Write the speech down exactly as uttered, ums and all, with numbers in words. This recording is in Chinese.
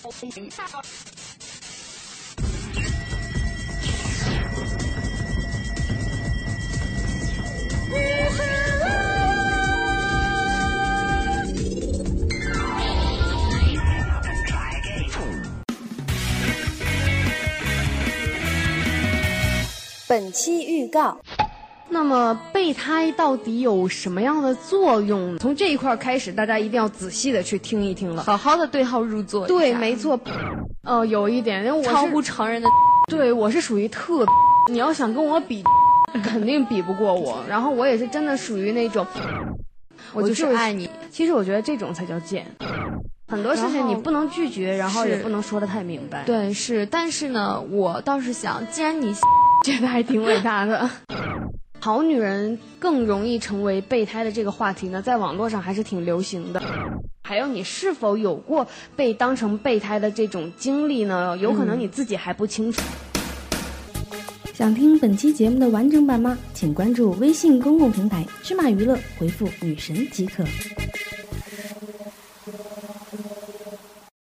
本期预告。 那么备胎到底有什么样的作用？从这一块开始，大家一定要仔细的去听一听了， 好好的对号入座。 对，没错。呃，有一点，因为我超乎常人的， 对，我是属于特，你要想跟我比，肯定比不过我。然后我也是真的属于那种， 我就是爱你。 其实我觉得这种才叫贱。很多事情你不能拒绝，然后也不能说得太明白。 对，是，但是呢，我倒是想，既然你觉得还挺伟大的。好女人更容易成为备胎的这个话题呢，在网络上还是挺流行的。还有你是否有过被当成备胎的这种经历呢？有可能你自己还不清楚。 想听本期节目的完整版吗？请关注微信公共平台芝麻娱乐，回复女神即可。